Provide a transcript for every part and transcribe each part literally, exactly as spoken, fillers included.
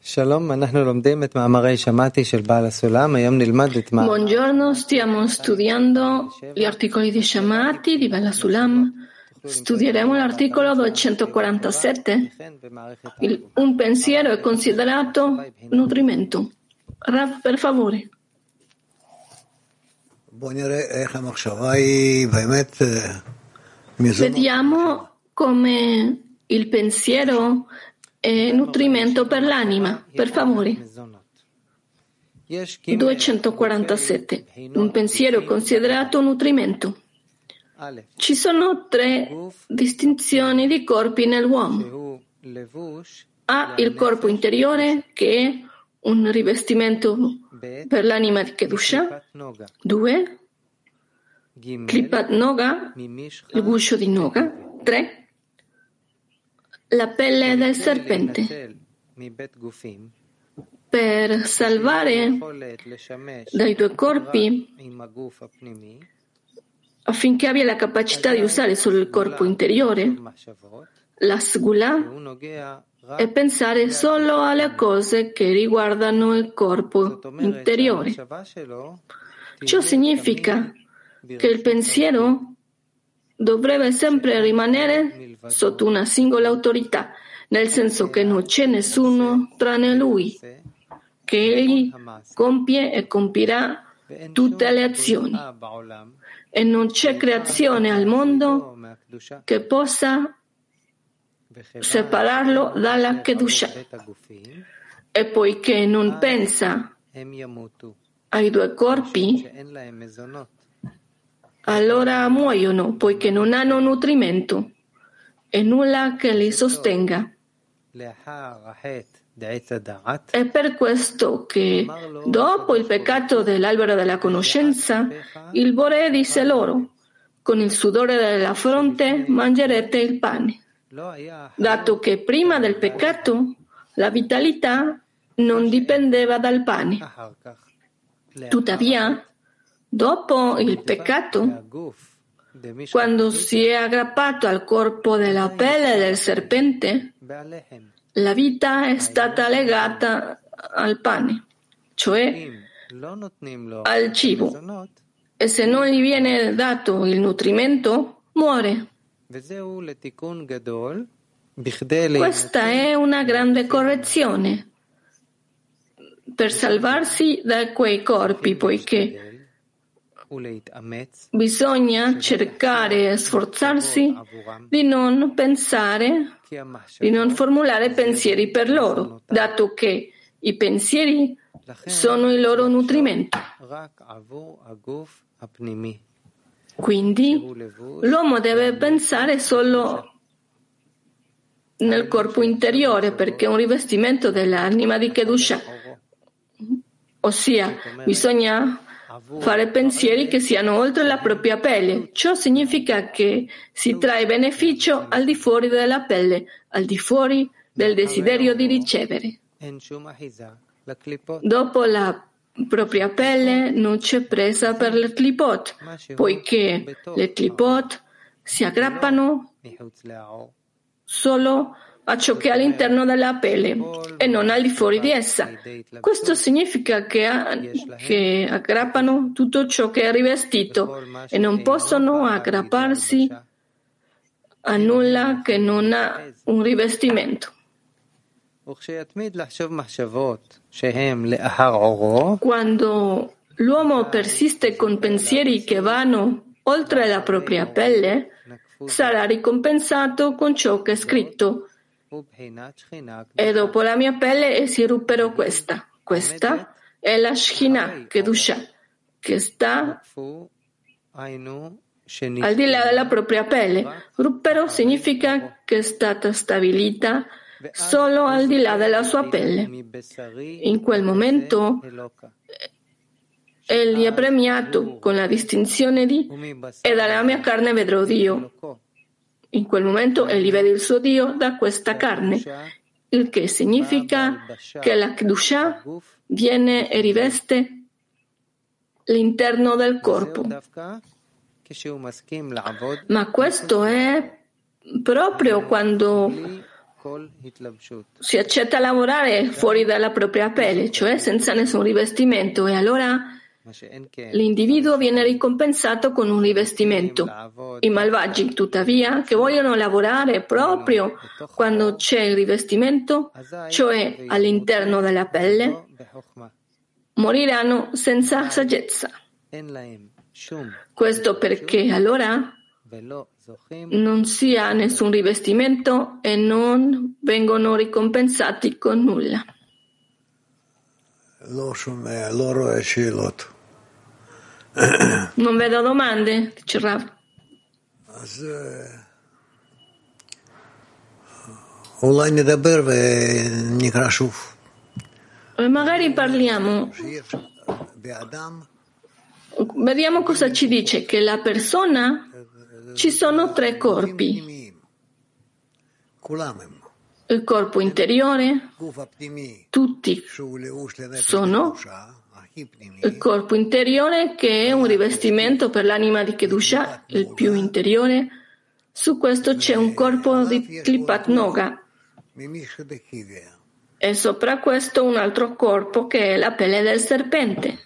Buongiorno, stiamo studiando gli articoli di Shamati di Bella Sulam. Studieremo l'articolo duecentoquarantasette. Il, un pensiero è considerato nutrimento. Rav, per favore. Vediamo come il pensiero è nutrimento per l'anima. Per favore. duecentoquarantasette. Un pensiero considerato nutrimento. Ci sono tre distinzioni di corpi nell'uomo. Ha il corpo interiore, che è un rivestimento per l'anima di Kedusha. Due. Klipat Noga, il guscio di Noga. Tre. La pelle del serpente. Per salvare dai due corpi, affinché abbia la capacità di usare solo il corpo interiore, la sgula è pensare solo alle cose che riguardano il corpo interiore. Ciò significa che il pensiero dovrebbe sempre rimanere sotto una singola autorità, nel senso che non c'è nessuno tranne lui, che egli compie e compirà tutte le azioni, e non c'è creazione al mondo che possa separarlo dalla Kedusha. E poiché non pensa ai due corpi, allora muoiono, poiché non hanno nutrimento e nulla che li sostenga. È per questo che, dopo il peccato dell'albero della conoscenza, il Boré disse loro: con il sudore della fronte mangerete il pane. Dato che prima del peccato la vitalità non dipendeva dal pane. Tuttavia, dopo il peccato, quando si è aggrappato al corpo della pelle del serpente, la vita è stata legata al pane, cioè al cibo, e se non gli viene dato il nutrimento, muore. Questa è una grande correzione per salvarsi da quei corpi, poiché bisogna cercare e sforzarsi di non pensare, di non formulare pensieri per loro, dato che i pensieri sono il loro nutrimento. Quindi l'uomo deve pensare solo nel corpo interiore, perché è un rivestimento dell'anima di Kedusha, ossia bisogna fare pensieri che siano oltre la propria pelle. Ciò significa che si trae beneficio al di fuori della pelle, al di fuori del desiderio di ricevere. Dopo la propria pelle non c'è presa per le clipot, poiché le clipot si aggrappano solo a ciò che è all'interno della pelle e non al di fuori di essa. Questo significa che, che aggrappano tutto ciò che è rivestito e non possono aggrapparsi a nulla che non ha un rivestimento. Quando l'uomo persiste con pensieri che vanno oltre la propria pelle, sarà ricompensato con ciò che è scritto: e dopo la mia pelle si ruppero questa. Questa è la Shekhinah, Kedusha, che sta al di là della propria pelle. Ruppero significa che è stata stabilita solo al di là della sua pelle. In quel momento egli è premiato con la distinzione di e dalla mia carne vedrò Dio. In quel momento egli vede il suo Dio da questa carne, il che significa che la Kedusha viene e riveste l'interno del corpo. Ma questo è proprio quando si accetta a lavorare fuori dalla propria pelle, cioè senza nessun rivestimento, e allora l'individuo viene ricompensato con un rivestimento. I malvagi, tuttavia, che vogliono lavorare proprio quando c'è il rivestimento, cioè all'interno della pelle, moriranno senza saggezza. Questo perché allora non si ha nessun rivestimento e non vengono ricompensati con nulla. Non vedo domande, dice Rav. E magari parliamo, vediamo cosa ci dice, che la persona, ci sono tre corpi. Il corpo interiore, tutti sono il corpo interiore che è un rivestimento per l'anima di Kedusha, il più interiore. Su questo c'è un corpo di Klipat Noga e sopra questo un altro corpo che è la pelle del serpente.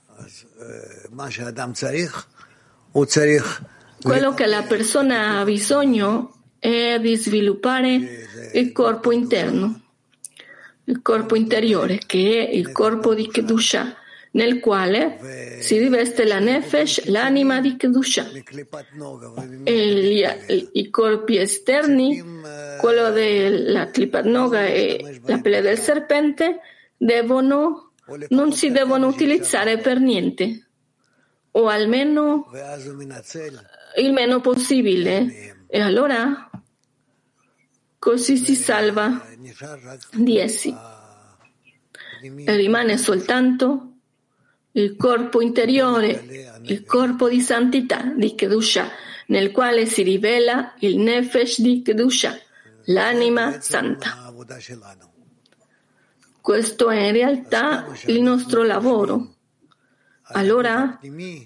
Quello che la persona ha bisogno è di sviluppare il corpo interno, il corpo interiore, che è il corpo di Kedusha, nel quale si riveste la Nefesh, l'anima di Kedusha. E gli, i corpi esterni, quello della Klipat Noga e la pelle del serpente, devono, non si devono utilizzare per niente, o almeno il meno possibile. E allora così si salva di essi. E rimane soltanto il corpo interiore, il corpo di santità di Kedusha, nel quale si rivela il Nefesh di Kedusha, l'anima santa. Questo è in realtà il nostro lavoro. Allora,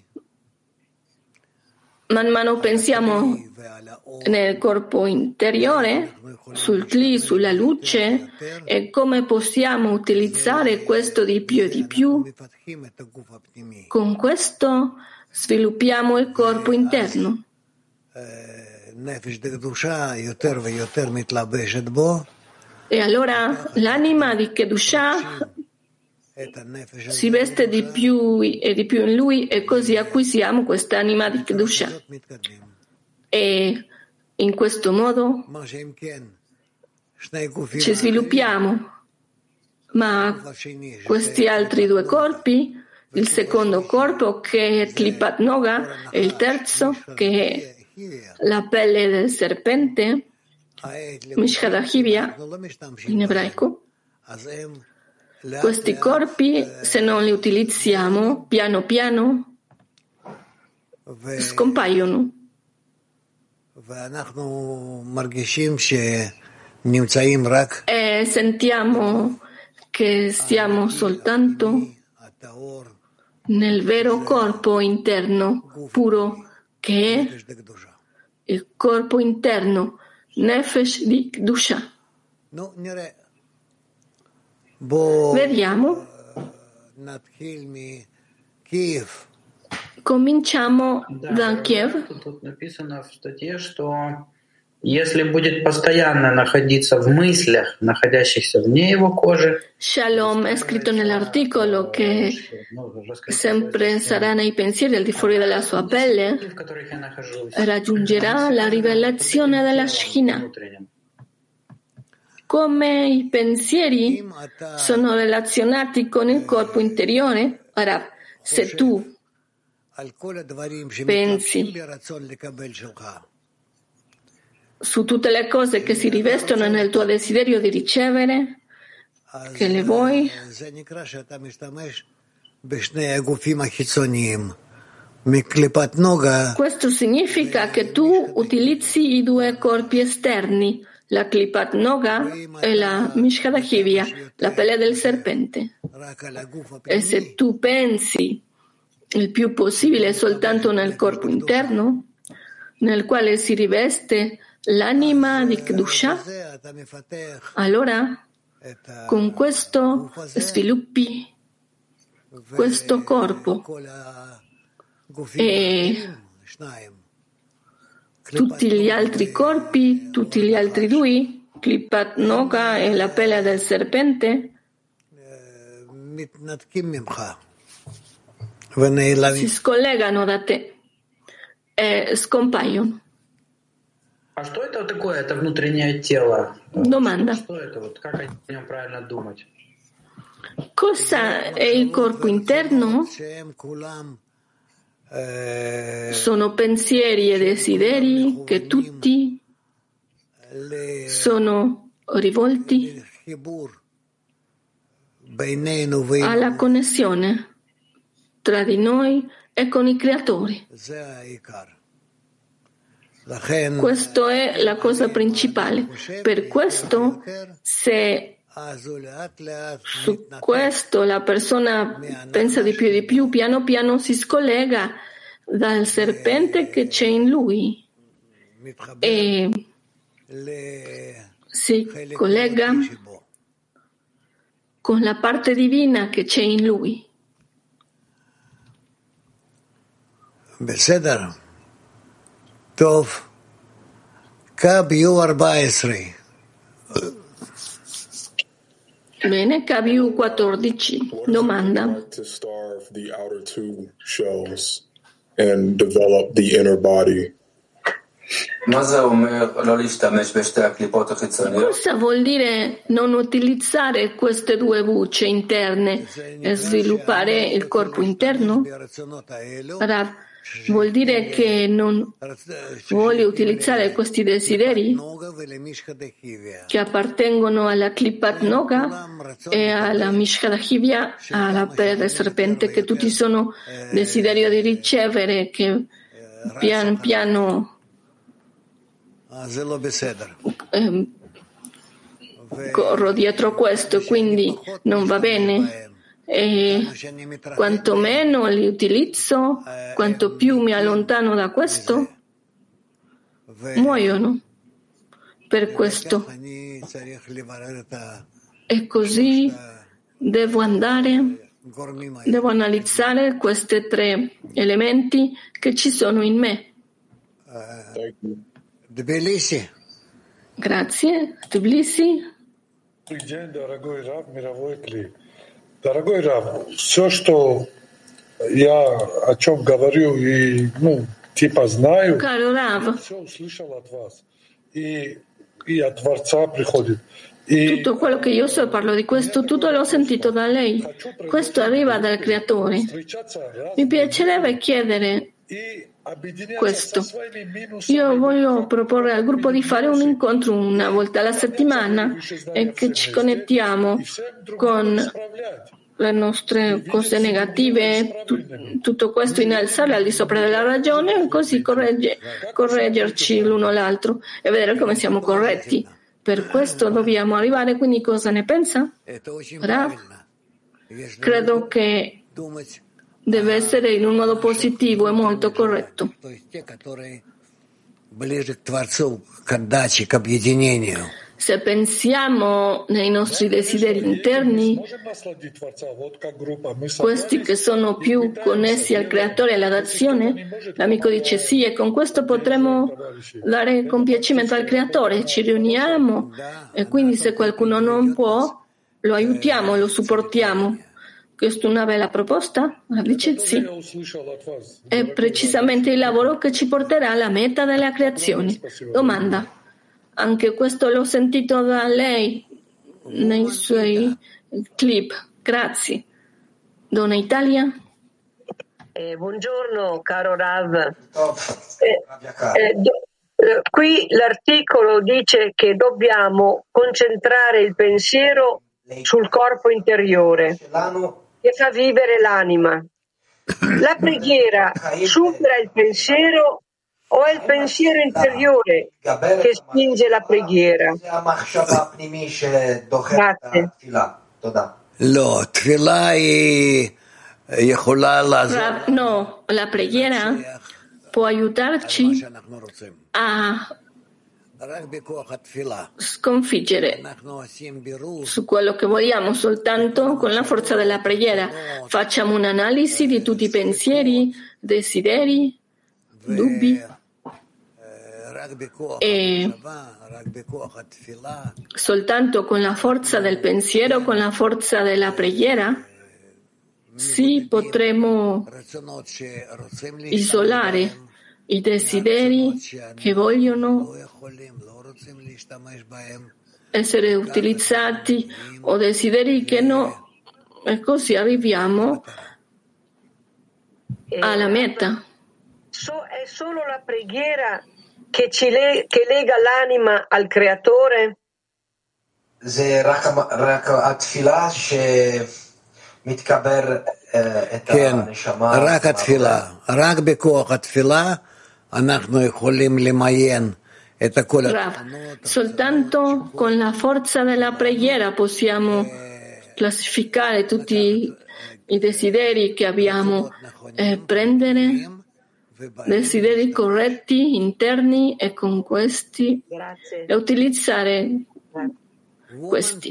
man mano pensiamo nel corpo interiore, sul Kli, sulla luce, e come possiamo utilizzare questo di più e di più. Con questo sviluppiamo il corpo interno. E allora l'anima di Kedusha si veste di più e di più in lui, e così acquisiamo quest'anima di Kedusha. E in questo modo ci sviluppiamo. Ma questi altri due corpi, il secondo corpo che è Klipat Noga e il terzo che è la pelle del serpente, Mishkadachivia in ebraico, questi corpi, se non li utilizziamo, piano piano scompaiono. E sentiamo che siamo soltanto nel vero corpo interno puro, che è il corpo interno, Nefesh di Kedusha. Vediamo. Cominciamo da Kiev. Если будет постоянно находиться в мыслях, находящихся вне его кожи. Shalom è scritto nell'articolo che sempre sarà nei pensieri al di fuori della sua pelle, raggiungerà la rivelazione della Shekhinah. Come i pensieri sono relazionati con il corpo interiore, ora, se tu pensi su tutte le cose che si rivestono nel tuo desiderio di ricevere, che le vuoi, questo significa che tu utilizzi i due corpi esterni, la Klipat Noga e la Mishkadachivia, la pelle del serpente. E se tu pensi il più possibile soltanto nel corpo interno, nel quale si riveste l'anima di Kedusha, allora con questo sviluppi questo corpo e tutti gli altri corpi, tutti gli altri due, Klipat Noga e la pelle del serpente, si scollegano da te e scompaiono. А что это такое? Это внутреннее тело. Domanda. Что это? Вот как о нем правильно думать? Cosa è il corpo interno? Sono pensieri e desideri che tutti sono rivolti alla connessione tra di noi e con i creatori. Questa è la cosa principale. Per questo, se su questo la persona pensa di più e di più, piano piano si scollega dal serpente che c'è in lui e si collega con la parte divina che c'è in lui. בסדר. טוב. קו יו ארבע עשרה. Bene, K B U quattordici. Domanda. To starve the outer two shells and develop the inner body. Cosa vuol dire non utilizzare queste due bucce interne e sviluppare il corpo interno? Rav, vuol dire che non vuole utilizzare questi desideri che appartengono alla Klipat Noga e alla Mishkadachivya, alla pelle del serpente, che tutti sono desiderio di ricevere, che pian piano eh, corro dietro questo, quindi non va bene. E quanto meno li utilizzo, quanto più mi allontano da questo, muoiono. Per questo. E così devo andare, devo analizzare questi tre elementi che ci sono in me. Tbilisi. Grazie. Tbilisi. Дорогой Рав, все, что я о чем говорю и, ну, типа знаю, все услышал от вас. И, и от Творца приходит. Tutto quello che io so, parlo di questo, tutto l'ho sentito da lei. Questo arriva dal Creatore. Mi piacerebbe chiedere questo. Io voglio proporre al gruppo di fare un incontro una volta alla settimana e che ci connettiamo con le nostre cose negative, tu, tutto questo innalzare al di sopra della ragione e così corregge, correggerci l'uno l'altro e vedere come siamo corretti. Per questo dobbiamo arrivare, quindi cosa ne pensa? Rav? Credo che deve essere in un modo positivo e molto corretto. Se pensiamo nei nostri desideri interni, questi che sono più connessi al Creatore e all'azione, l'amico dice sì, e con questo potremo dare compiacimento al Creatore, ci riuniamo e quindi se qualcuno non può, lo aiutiamo, lo supportiamo. Questa è una bella proposta? Dice sì. È precisamente il lavoro che ci porterà alla meta della creazione. Domanda. Anche questo l'ho sentito da lei nei suoi clip. Grazie. Donna Italia. Eh, buongiorno caro Rav. Eh, eh, do, eh, qui l'articolo dice che dobbiamo concentrare il pensiero sul corpo interiore che fa vivere l'anima. La preghiera supera il pensiero o è il pensiero interiore che spinge la preghiera? Grazie. No, la preghiera può aiutarci a sconfiggere su quello che vogliamo soltanto con la forza della preghiera. Facciamo un'analisi di tutti i pensieri, desideri, dubbi e soltanto con la forza del pensiero, con la forza della preghiera, sì, potremo isolare i desideri che vogliono essere utilizzati o desideri che no, e così arriviamo alla meta. È solo la preghiera che, ci le- che lega l'anima al Creatore? זה רק רק התפילה שמתקבר את כן, הנשמה. רק התפילה, רק בכוח התפילה אנחנו יכולים למיין את כל Rav, soltanto con la forza della preghiera possiamo classificare tutti i desideri che abbiamo e prendere desideri corretti, interni, e con questi Grazie. e utilizzare questi.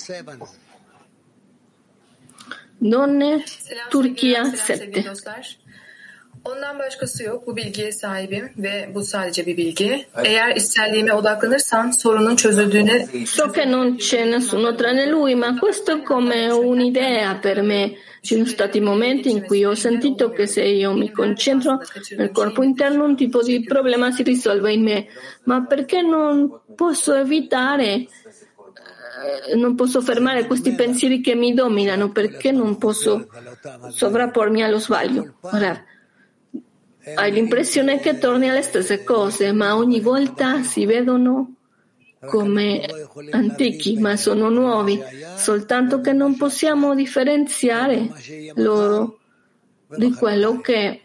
Donne, Turchia sette. Ondan başkası yok. Bu bilgiye sahibim ve bu sadece bir bilgi. Eğer içselliğime odaklanırsam sorunun çözüldüğüne... So che non c'è nessuno tranne lui, ma questo è come un'idea per me. Ci sono stati momenti in cui ho sentito che se io mi concentro nel corpo interno un tipo di problema si risolve in me. Ma perché non posso evitare, eh, non posso fermare questi pensieri che mi dominano? Perché non posso sovrappormi allo sbaglio? Ora, hai l'impressione che torni alle stesse cose, ma ogni volta si vedono come antichi, ma sono nuovi, soltanto che non possiamo differenziare loro di quello che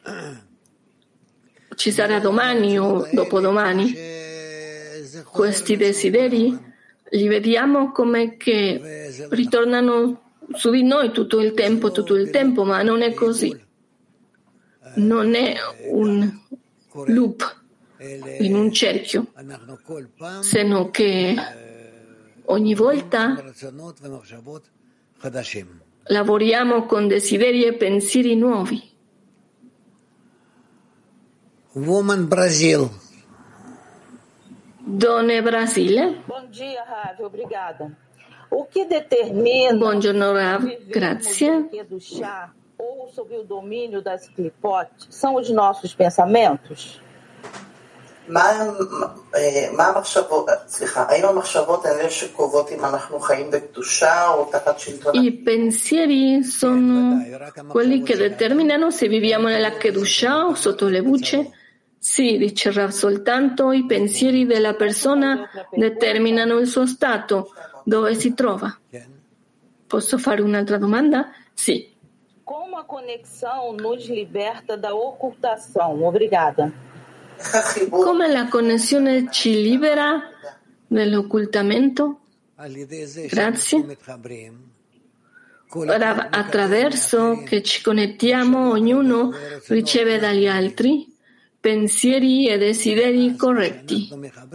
ci sarà domani o dopodomani. Questi desideri li vediamo come che ritornano su di noi tutto il tempo, tutto il tempo, ma non è così. Non è un loop in un cerchio, se no che ogni volta lavoriamo con desideri e pensieri nuovi. Woman Brazil. Donne Brasile. Bom dia, Rav, obrigada. O que determina Buongiorno Rav, grazie. do chá ou sobre o domínio das clipotes são os nossos pensamentos? מה המחשבות, סליחה, האם המחשבות האלה שקובעות אם אנחנו חיים בקדושה או תחת שלטון? I pensieri sono quelli che determinano se viviamo nella Kedusha o sotto le bucce? Sì, dice Rav, soltanto i pensieri della persona determinano il suo stato, dove si trova. Posso fare un'altra domanda? Sì. Como a conexão nos liberta da ocultação? Obrigada. Come la connessione ci libera dall'occultamento? Grazie. Ora, attraverso che ci connettiamo, ognuno riceve dagli altri pensieri e desideri corretti.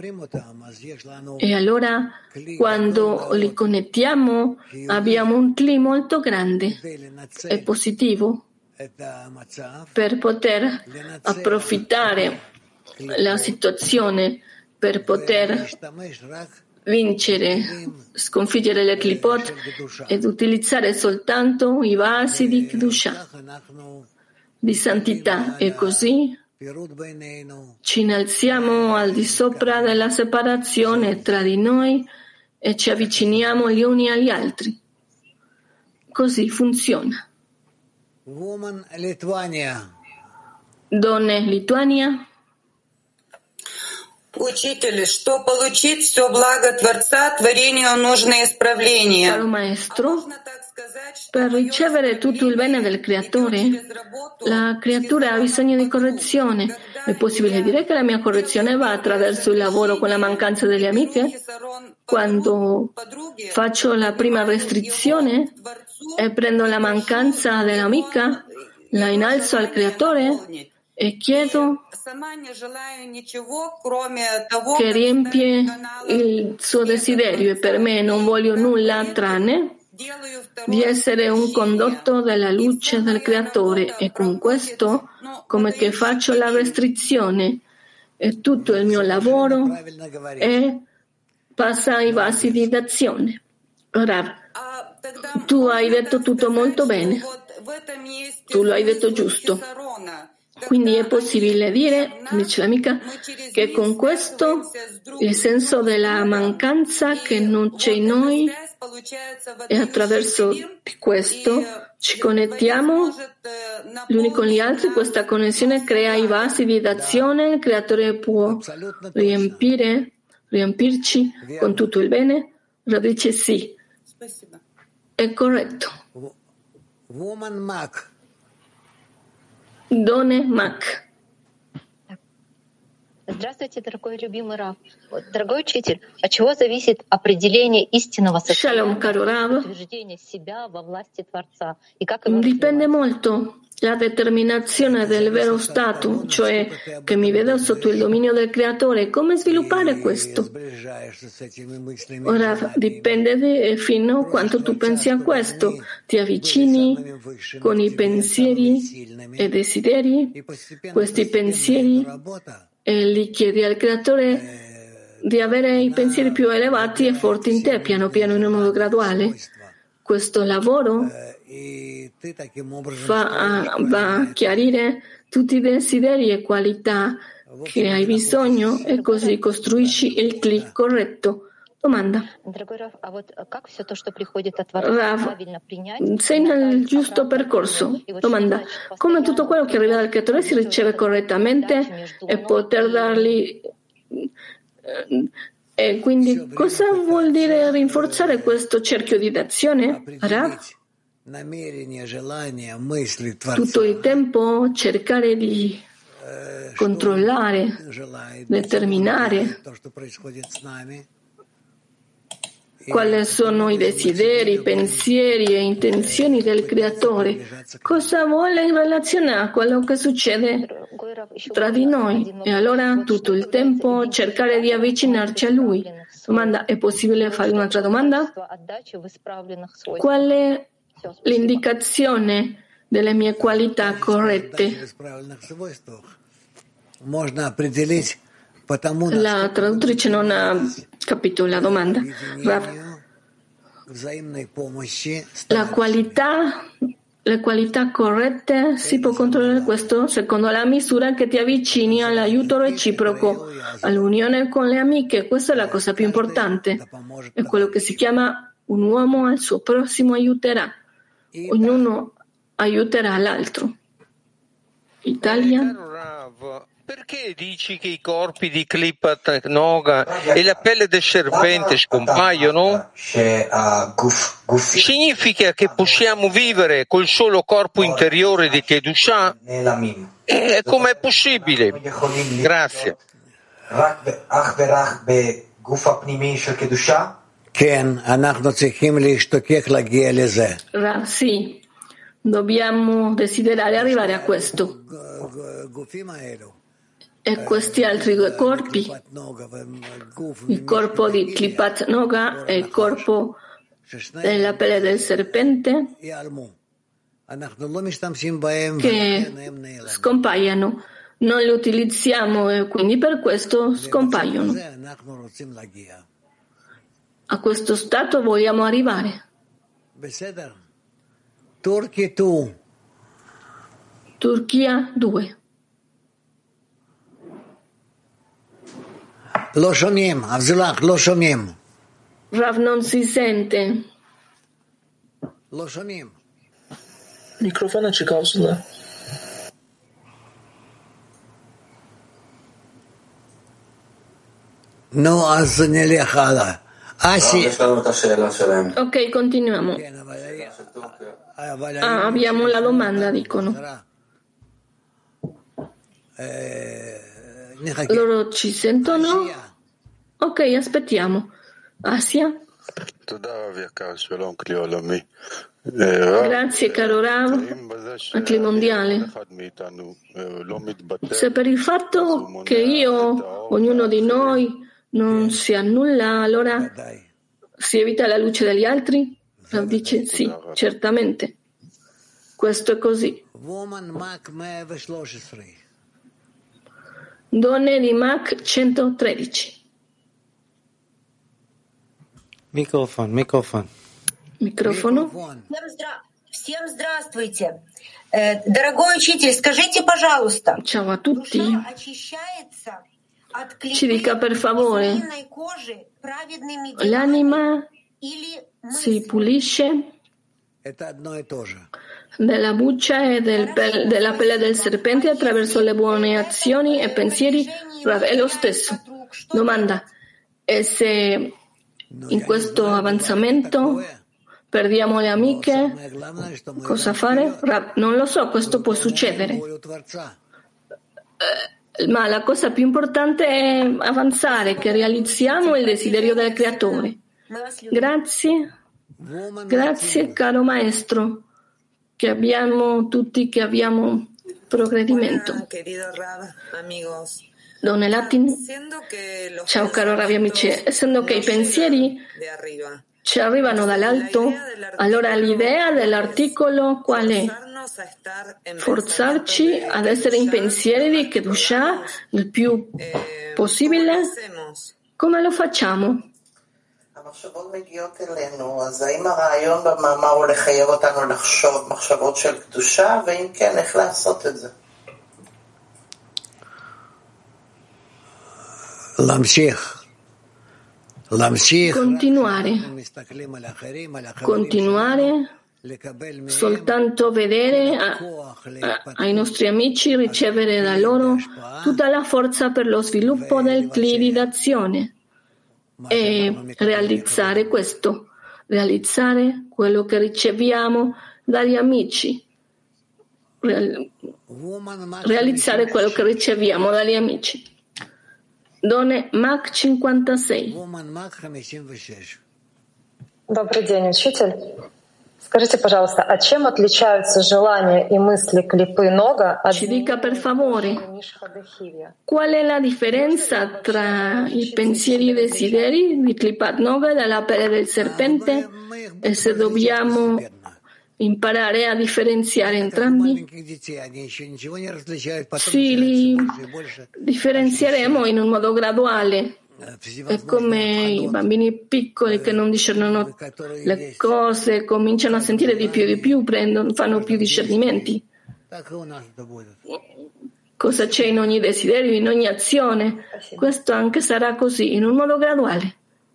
E allora, quando li connettiamo, abbiamo un clima molto grande e positivo per poter approfittare la situazione, per poter vincere, sconfiggere le clipot ed utilizzare soltanto i vasi di Kedusha, di santità, e così ci innalziamo al di sopra della separazione tra di noi e ci avviciniamo gli uni agli altri. Così funziona. Donne Lituania. Учитель, что получить все благо Творца, творению нужно исправление. Caro maestro, per ricevere tutto il bene del creatore, la creatura ha bisogno di correzione. È possibile dire che la mia correzione va attraverso il lavoro con la mancanza delle amiche? Quando faccio la prima restrizione e prendo la mancanza dell'amica, la innalzo al creatore e chiedo che riempie il suo desiderio, e per me non voglio nulla tranne di essere un condotto della luce del Creatore, e con questo come che faccio la restrizione e tutto il mio lavoro è passa ai vasi di d'azione. Rav, tu hai detto tutto molto bene, tu lo hai detto giusto. Quindi è possibile dire, dice l'amica, che con questo il senso della mancanza che non c'è in noi, e attraverso questo ci connettiamo gli uni con gli altri, questa connessione crea i vasi di d'azione, il Creatore può riempire, riempirci con tutto il bene? Rav dice sì, è corretto. Woman Mac. Доне Мак. Здравствуйте, дорогой любимый Рав. Дорогой учитель, от чего зависит определение истинного состояния, утверждения себя во власти Творца? И как его Dipende molto la determinazione del vero stato, cioè che mi vedo sotto il dominio del Creatore. Come sviluppare questo? Ora dipende di, fino a quanto tu pensi a questo. Ti avvicini con i pensieri e desideri, questi pensieri, e li chiedi al Creatore di avere i pensieri più elevati e forti in te, piano piano, in un modo graduale. Questo lavoro fa, va a chiarire tutti i desideri e qualità che hai bisogno, e così costruisci il click corretto. Domanda. Rav, sei nel giusto percorso. Domanda. Come tutto quello che arriva dal Creatore si riceve correttamente e poter dargli... E quindi cosa vuol dire rinforzare questo cerchio di d'azione? Rav? Tutto il tempo cercare di controllare, determinare quali sono i desideri, i pensieri e intenzioni del Creatore, cosa vuole in relazione a quello che succede tra di noi, e allora tutto il tempo cercare di avvicinarci a Lui. Domanda, è possibile fare un'altra domanda? Qual è l'indicazione delle mie qualità corrette? La traduttrice non ha capito la domanda. La qualità, le qualità corrette si può controllare questo secondo la misura che ti avvicini all'aiuto reciproco, all'unione con le amiche. Questa è la cosa più importante. È quello che si chiama un uomo al suo prossimo aiuterà. Ognuno aiuterà l'altro. Italia. Perché dici che i corpi di Klipat Noga e la pelle del serpente scompaiono? Significa che possiamo vivere col solo corpo interiore di Kedusha? E com'è possibile? Grazie. Sì, dobbiamo desiderare arrivare a questo. E questi altri due corpi, il corpo di Klipat Noga e il corpo della pelle del serpente, che scompaiono. Non li utilizziamo e quindi per questo scompaiono. A questo stato vogliamo arrivare. Turchia due. לא שומעים, אבזולח, לא שומעים. Rav non si sente. לא שומעים. מיקרופון צ'יקאוסלה. נו, אז נלך הלאה. אסי. Ok, continuiamo. Ah, abbiamo la domanda, dicono. Loro ci sentono? Ok, aspettiamo. Asia? Grazie, caro Rav, Atli mondiale. Se per il fatto che io, ognuno di noi, non si annulla, allora si evita la luce degli altri? Rav dice sì, certamente. Questo è così. Donne di Mac centotredici. Microfono, microfono. Microfono. Всем здравствуйте. Дорогой учитель, скажите, пожалуйста, ciao a tutti. Ci dica per favore, l'anima si pulisce della buccia e del pel- della pelle del serpente attraverso le buone azioni e pensieri? È lo stesso. Domanda: e se in questo avanzamento perdiamo le amiche, cosa fare? Non lo so, questo può succedere. Ma la cosa più importante è avanzare, che realizziamo il desiderio del Creatore. Grazie, grazie caro maestro, che abbiamo tutti, che abbiamo progredimento. Donne Latin, ciao caro Ravi amici, essendo che i pensieri ci arrivano dall'alto, allora l'idea dell'articolo qual è? Forzarci ad essere in pensieri di Kedushah il più possibile? Come lo facciamo? המחשבות מגיעות אלינו, אז האם הרעיון במאמר הוא לחייב אותנו לחשוב מחשבות של קדושה, ואם כן, איך לעשות את זה? להמשיך. Continuare, continuare, soltanto vedere a, a, ai nostri amici, ricevere da loro tutta la forza per lo sviluppo del Kli d'azione e realizzare questo, realizzare quello che riceviamo dagli amici, realizzare quello che riceviamo dagli amici. Donne Мак cinquantasei. Добрый день, учитель. Скажите, пожалуйста, а чем отличаются желания и мысли клипы Нога от Ci dica per favore, qual è la differenza tra i pensieri e i desideri di Klipat Noga e della pelle del serpente e se dobbiamo imparare a differenziare entrambi? Sì, li differenzieremo in un modo graduale. È come i bambini piccoli che non discernono le cose, cominciano a sentire di più e di più, prendono, fanno più discernimenti. Cosa c'è in ogni desiderio, in ogni azione? Questo anche sarà così, in un modo graduale.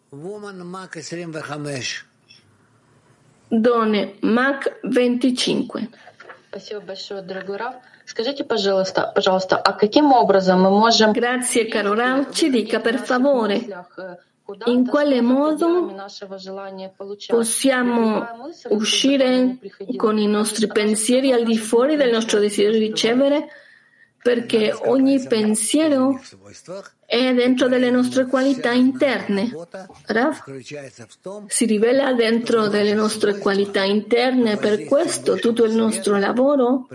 Donne Мак venticinque. Спасибо большое, дорогой Рав. Скажите, пожалуйста, пожалуйста, а каким образом мы можем... Grazie, caro Rav. Ci dica per favore in quale modo possiamo uscire con i nostri pensieri al di fuori del nostro desiderio di ricevere, perché ogni pensiero è dentro delle nostre qualità interne. Rav si rivela dentro delle nostre qualità interne, per questo tutto il nostro lavoro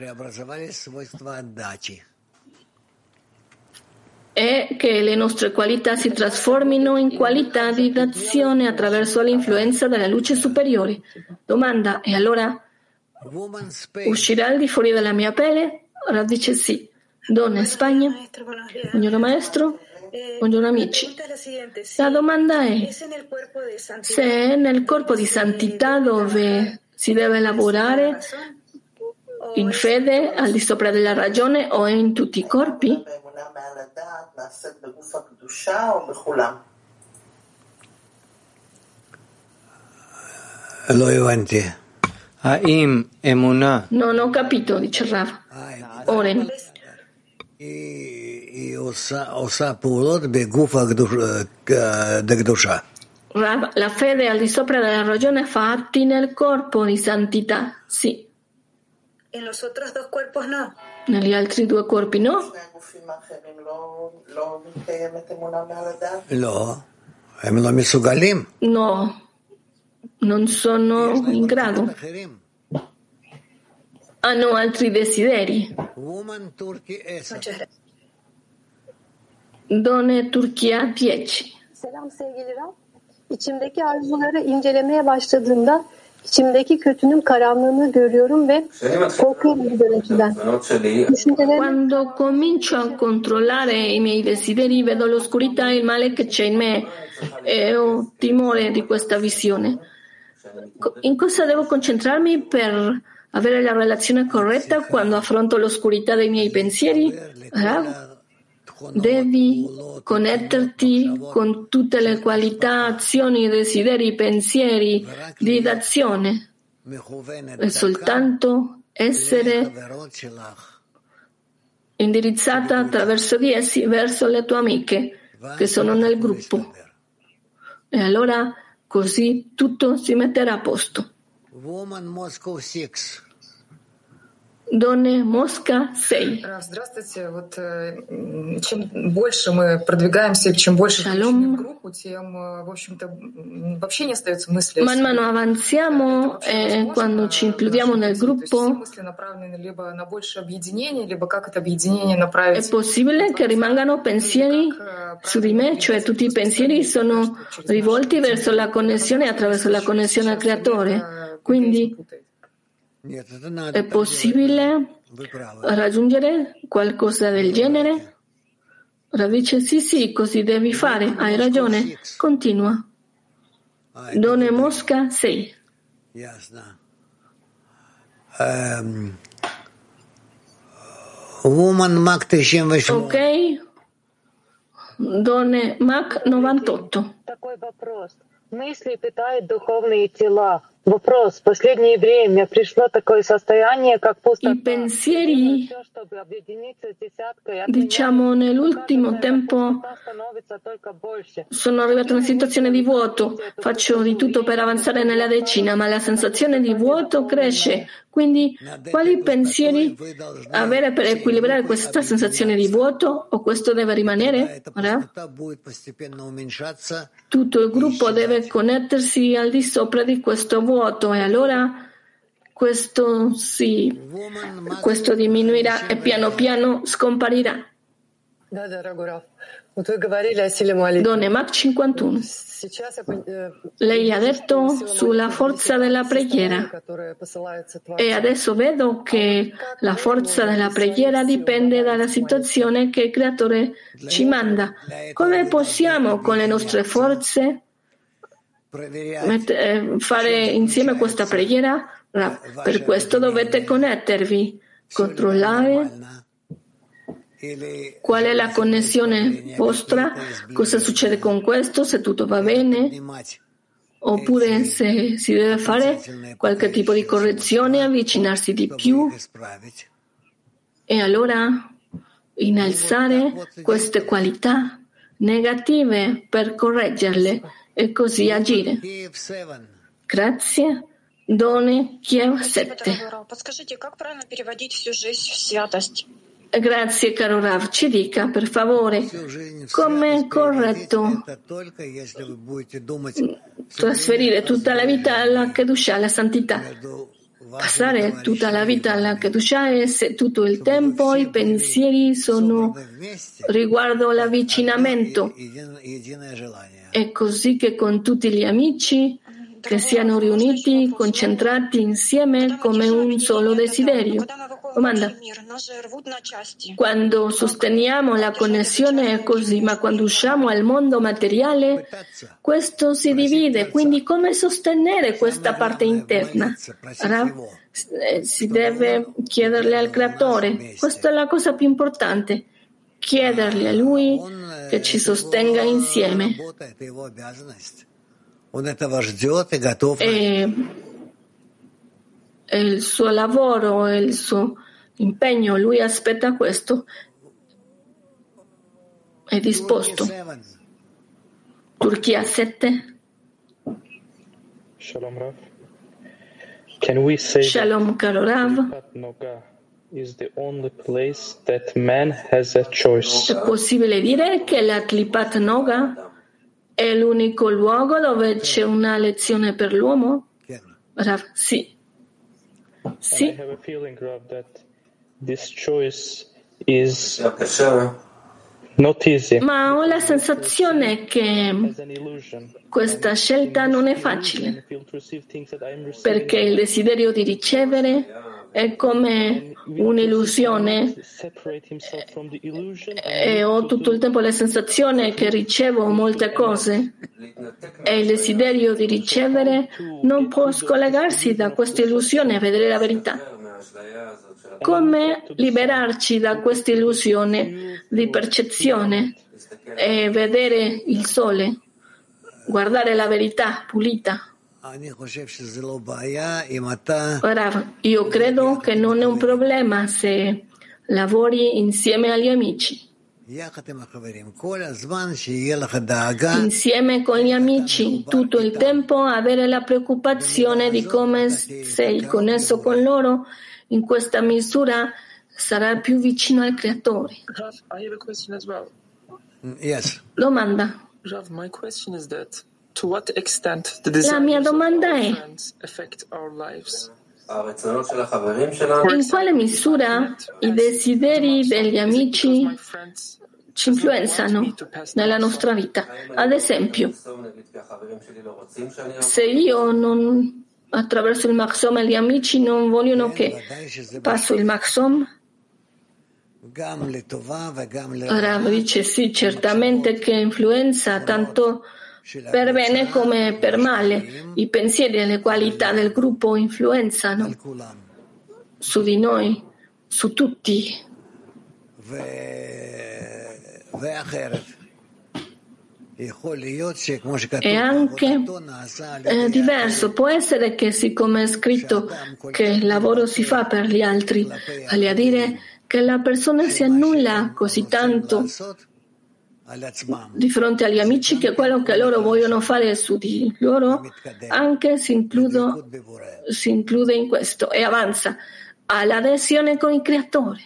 è che le nostre qualità si trasformino in qualità di d'azione attraverso l'influenza della luce superiore. Domanda: e allora uscirà al di fuori della mia pelle? Rav dice sì. Donna Spagna, buongiorno maestro, buongiorno amici. La domanda è se è nel corpo di santità dove si deve lavorare in fede al di sopra della ragione o in tutti i corpi? Non ho capito, dice Rav. Oren. Rav, la fede al di sopra della ragione fa atti nel corpo di santità, sì. En los otros dos cuerpos no. Negli altri due corpi no? לא, הם לא מסוגלים. No, non sono in grado, hanno altri desideri. Donne Turchia dieci. Selam sevgili Rab. İçimdeki arzuları incelemeye başladığımda içimdeki kötünün karanlığını görüyorum ve korkuyorum bu görüntüden. Quando comincio a controllare i miei desideri, vedo l'oscurità e il male che c'è in me e ho timore di questa visione. In cosa devo concentrarmi per avere la relazione corretta quando affronto l'oscurità dei miei pensieri? Rav? Devi connetterti con tutte le qualità, azioni, desideri, pensieri di d'azione e soltanto essere indirizzata attraverso di essi verso le tue amiche che sono nel gruppo. E allora così tutto si metterà a posto. Donne Mosca sei. Здравствуйте. Вот чем больше мы продвигаемся, чем больше включаем в группу, тем, в общем-то, вообще не остается мысли. Man mano avanziamo e quando ci includiamo nel gruppo мысли направлены либо на больше объединение, либо как это объединение направить. È possibile che rimangano pensieri su di me, cioè tutti i pensieri sono rivolti verso la connessione attraverso la connessione al creatore. Quindi è possibile raggiungere qualcosa del genere? Rav dice sì, sì, così devi fare, hai ragione, continua. Donne Mosca sei. Um, woman Mac ok, Donne Mac novantotto. Мысли питают духовные тела. Вопрос. В последнее время пришло такое состояние, как пустота. I pensieri, diciamo, nell'ultimo tempo sono arrivato in una situazione di vuoto. Faccio di tutto per avanzare nella decina, ma la sensazione di vuoto cresce. Quindi, quali pensieri avere per equilibrare questa sensazione di vuoto? O questo deve rimanere? Ora? Tutto il gruppo deve connettersi al di sopra di questo vuoto e allora questo si, questo diminuirà e piano piano scomparirà. Donne Mac cinquantuno. Lei ha detto sulla forza della preghiera e adesso vedo che la forza della preghiera dipende dalla situazione che il creatore ci manda. Come possiamo con le nostre forze fare insieme questa preghiera? Per questo dovete connettervi, controllare qual è la connessione vostra, cosa succede con questo, se tutto va bene, oppure se si deve fare qualche tipo di correzione, avvicinarsi di più e allora innalzare queste qualità negative per correggerle e così agire. Grazie. Donne Kiev sette. Grazie caro Rav, ci dica per favore come è corretto trasferire tutta la vita alla Kedushah, alla santità. Passare tutta la vita alla Kedushah e se tutto il tempo i pensieri sono riguardo l'avvicinamento. È così che con tutti gli amici che siano riuniti, concentrati insieme come un solo desiderio. Domanda. Quando sosteniamo la connessione è così, ma quando usciamo al mondo materiale questo si divide, quindi come sostenere questa parte interna? Si deve chiederle al creatore, questa è la cosa più importante, chiedergli a lui che ci sostenga insieme. E, e il suo lavoro e il suo impegno, lui aspetta questo, è disposto. Turchia sette. Shalom Rav. Can we say Shalom caro Rav. Is the only place that man has a choice. È possibile dire che la Klipat Noga è l'unico luogo dove c'è una lezione per l'uomo? Rav, sì. Sì. I have a feeling, Rav, that this choice is not easy. Ma ho la sensazione che questa scelta non è facile, perché il desiderio di ricevere è come un'illusione e ho tutto il tempo la sensazione che ricevo molte cose e il desiderio di ricevere non può scollegarsi da questa illusione e vedere la verità. Come liberarci da questa illusione di percezione e vedere il sole, guardare la verità pulita? Ora, io credo che non è un problema se lavori insieme agli amici. Insieme con gli amici, tutto il tempo avere la preoccupazione di come sei connesso con loro, in questa misura sarà più vicino al Creatore. Rav, I have a question as well. Yes. Domanda. Rav, my question is that to what extent the La mia desires of domanda our è: friends affect our lives? in quale misura i desideri degli amici ci influenzano nella nostra vita? Ad esempio, se io non attraverso il Maxom e gli amici non vogliono che passo il Maxom, Rav dice sì, certamente che influenza tanto per bene come per male. I pensieri e le qualità del gruppo influenzano su di noi, su tutti. È anche è diverso, può essere che siccome è scritto che il lavoro si fa per gli altri, vale a dire che la persona si annulla così tanto di fronte agli amici che quello che loro vogliono fare su di loro anche si, includo, si include in questo e avanza all'adesione con il Creatore.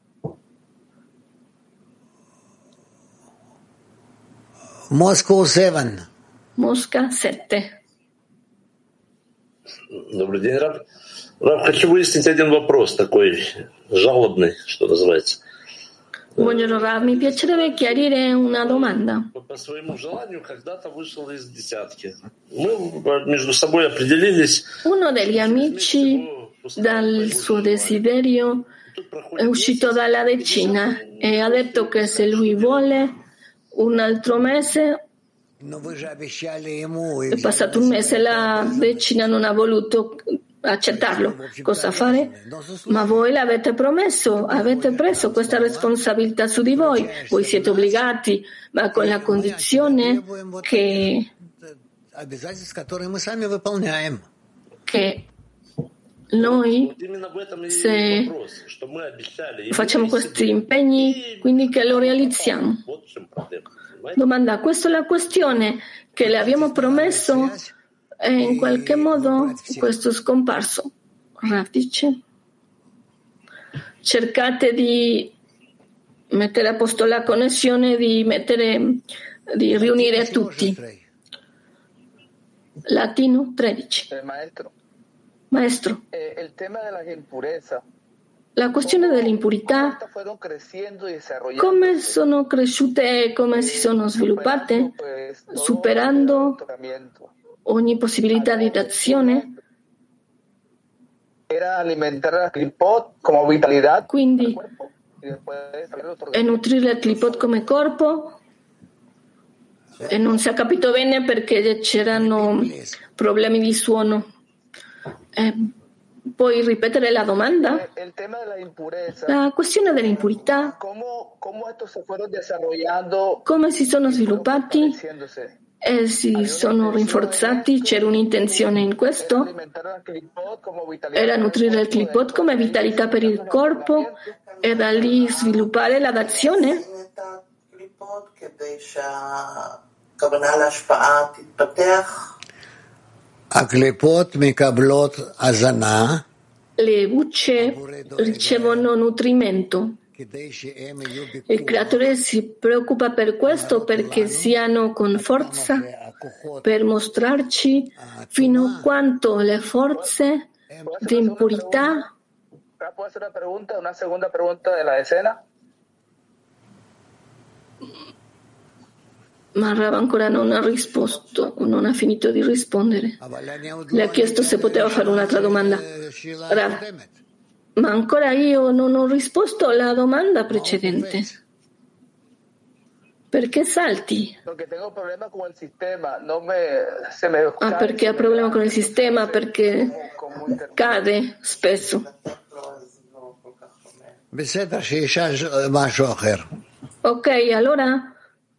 Moscow севен. Mosca sette. Добрый день, Раб. Раб, хочу выяснить один вопрос такой жалобный, что называется. Buongiorno Rav, mi piacerebbe chiarire una domanda. По своему желанию когда-то вышел из десятки. Мы между собой определились. Uno degli amici dal suo desiderio è uscito dalla decina e ha detto che se lui vuole un altro mese, è passato un mese, la decina non ha voluto accettarlo. Cosa fare? Ma voi l'avete promesso, avete preso questa responsabilità su di voi, voi siete obbligati, ma con la condizione che, che noi, se facciamo questi impegni, quindi che lo realizziamo. Domanda, questa è la questione, che le abbiamo promesso e in qualche modo questo è scomparso. Rav dice, cercate di mettere a posto la connessione, di mettere, di riunire tutti. Latino tredici. Maestro. Maestro. Eh, el tema de la impureza. La questione dell'impurità, come sono cresciute e come si sono sviluppate, superando ogni possibilità di d'azione? Quindi è nutrire il clipot come corpo, e non si è capito bene perché c'erano problemi di suono. Eh, Puoi ripetere la domanda? La questione dell'impurità, come si sono sviluppati e si sono rinforzati? C'era un'intenzione in questo? Era nutrire il clipot come vitalità per il corpo e da lì sviluppare la d'azione? Le bucce ricevono nutrimento Il creatore si preoccupa per questo perché siano con forza per mostrarci fino a quanto le forze di impurità. ¿Puedo hacer una pregunta, una segunda pregunta de la decena? Ma Rav ancora non ha risposto, non ha finito di rispondere. Le ha chiesto se poteva fare un'altra domanda. Rav, ma ancora io non ho risposto alla domanda precedente. Perché salti? Ah, perché ha problema con il sistema, perché cade spesso. Ok, allora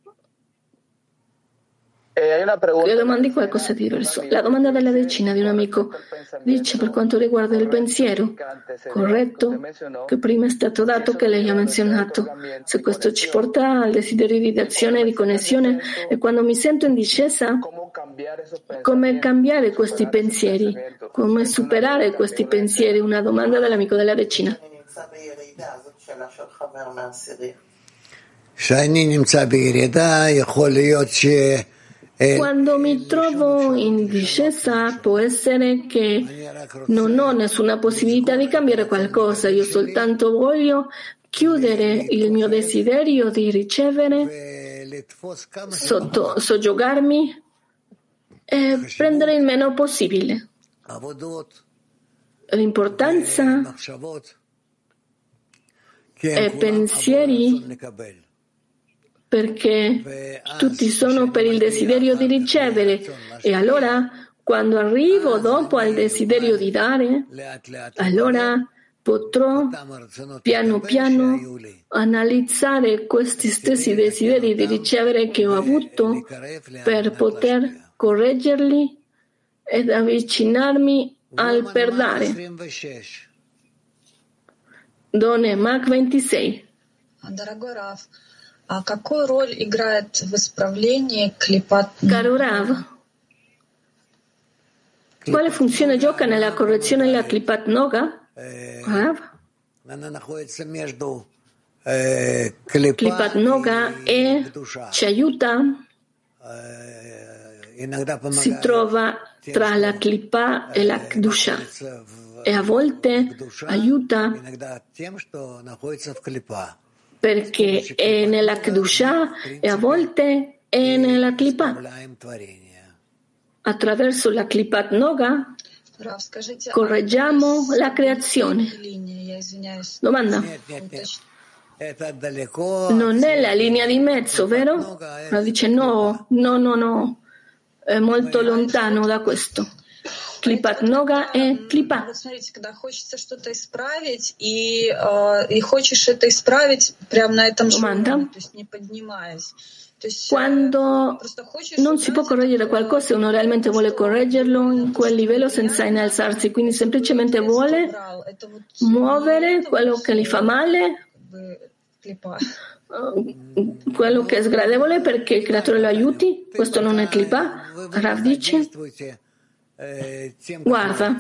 le domandi qualcosa di diverso. La domanda della decina di un amico dice per quanto riguarda il pensiero, corretto, che prima è stato dato, che lei ha menzionato, se questo ci porta al desiderio di azione e di connessione, e quando mi sento in discesa, come cambiare questi pensieri, come superare questi pensieri? Una domanda dell'amico della decina. Quando mi trovo in discesa può essere che non ho nessuna possibilità di cambiare qualcosa, io soltanto voglio chiudere il mio desiderio di ricevere, sotto, soggiogarmi e prendere il meno possibile. L'importanza è pensieri, perché tutti sono per il desiderio di ricevere, e allora quando arrivo dopo al desiderio di dare, allora potrò piano piano analizzare questi stessi desideri di ricevere che ho avuto per poter correggerli ed avvicinarmi al per dare. Done Mac ventisei. А какую роль играет в исправлении клипат? Caro Rav, quale funzione gioca nella correzione della Klipat Noga? Rav? Klipat Noga e ci aiuta, si trova tra la Klipa e la Kedusha, e a volte aiuta perché è nella Kedusha e a volte è nella Klipa. Attraverso la Klipat Noga correggiamo la creazione. Domanda? Non è la linea di mezzo, vero? Ma dice no, no, no, no, è molto lontano da questo. Клипат Нога и клипа. Вот смотрите, когда хочется что-то исправить, и, э, и хочешь это исправить прямо на этом же уровне, то есть не поднимаясь. Quando non si può correggere qualcosa e uno realmente vuole correggerlo in quel livello senza innalzarsi, quindi semplicemente vuole muovere quello che gli fa male, quello che è sgradevole perché il creatore lo aiuti, questo non è clipa. Rav dice: guarda,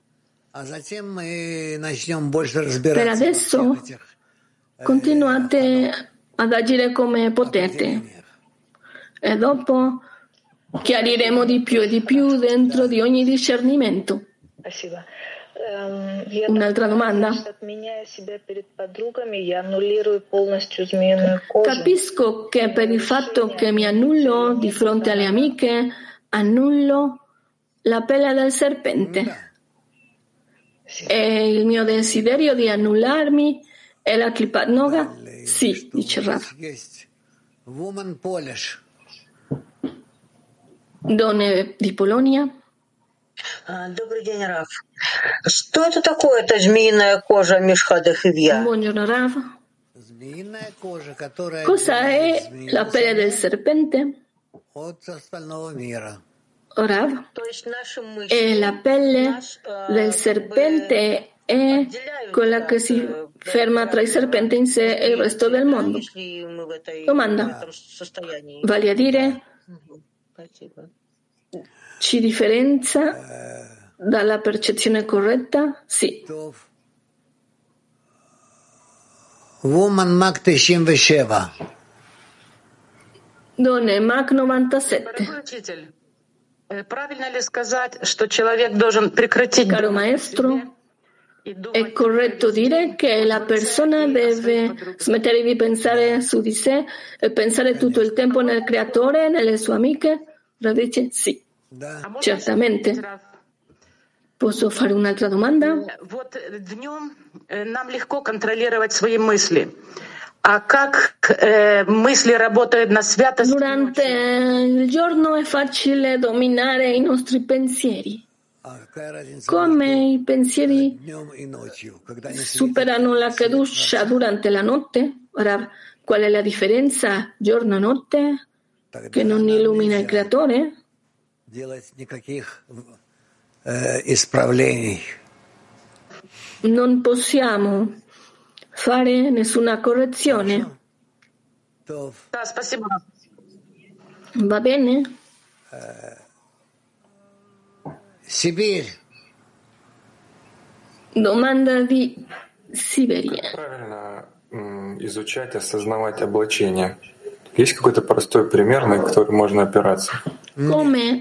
per adesso continuate ad agire come potete e dopo chiariremo di più e di più dentro di ogni discernimento. Un'altra domanda? Capisco che per il fatto che mi annullo di fronte alle amiche, annullo la pelle del serpente. E il mio desiderio di annullarmi è la Klipat Noga? Sì, dice Rav. Donne di Polonia. Добрый день, Раф. Что это такое, эта змеиная кожа Мишхада Хивья? Buongiorno, Rav. Cosa è la pelle del serpente? Rav, e la pelle del serpente è quella che si ferma tra il serpente in sé e il resto del mondo. Domanda, vale a dire, ci differenzia dalla percezione corretta? Sì. Woman Mac девяносто семь. Donne Mac novantasette. Правильно ли сказать, что человек должен прекратить... Caro maestro, è corretto dire che la persona deve smettere di pensare su di sé e pensare tutto il tempo nel creatore e nelle sue amiche? Rav dice sì, certamente. Posso fare un'altra domanda? Вот днем нам легко контролировать свои мысли. А как э, мысли работают на святость? Durante il giorno è facile dominare i nostri pensieri. Come i pensieri superano la Kedusha durante la notte? Ora, qual è la differenza giorno e notte che non illumina il creatore? Non possiamo fare nessuna correzione. Va bene? Sibir. Domanda di Siberia. Как правильно м, изучать, осознавать облачение? Есть какой-то простой пример, на который можно опираться? Come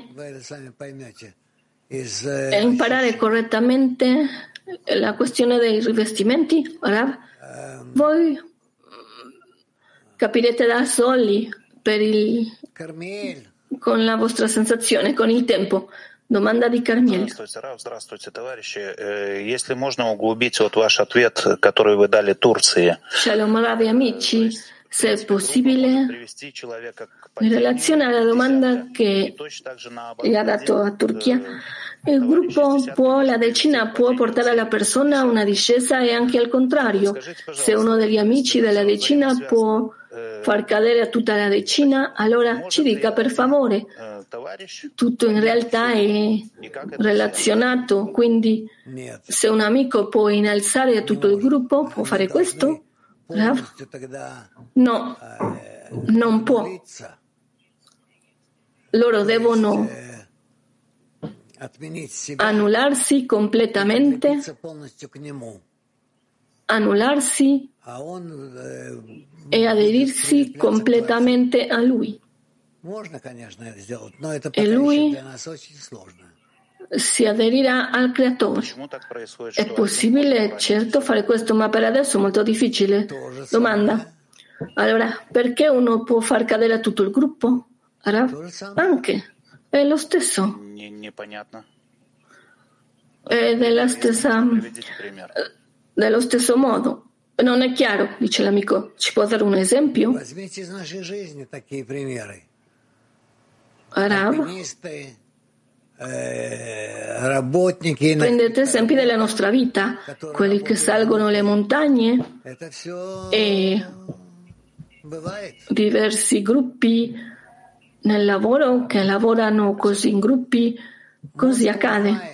imparare correttamente la questione dei rivestimenti? Ora, voi capirete da soli per il, con la vostra sensazione, con il tempo. Domanda di Carmiel. Здравствуйте, Рав, здравствуйте, товарищи. Если можно углубить вот ваш ответ, который вы дали Турции. Shalom, Rav e amici, se è possibile, in relazione alla domanda che gli ha dato a Turchia, il gruppo può, la decina può portare la persona a una discesa e anche al contrario. Se uno degli amici della decina può far cadere tutta la decina, allora ci dica per favore. Tutto in realtà è relazionato, quindi se un amico può innalzare tutto il gruppo, può fare questo? Rav? No, non può. Loro devono annullarsi completamente, annullarsi e aderirsi completamente a lui. E lui si aderirà al creatore. È possibile, certo, fare questo, ma per adesso è molto difficile. Domanda. Allora, perché uno può far cadere tutto il gruppo? Anche. È lo stesso. È della stessa, dello stesso modo. Non è chiaro, dice l'amico. Ci può dare un esempio? Rav, prendete esempi della nostra vita, quelli che salgono le montagne e diversi gruppi nel lavoro che lavorano così in gruppi, così accade.